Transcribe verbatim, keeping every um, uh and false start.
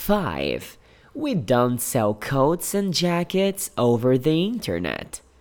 five. We don't sell coats and jackets over the internet.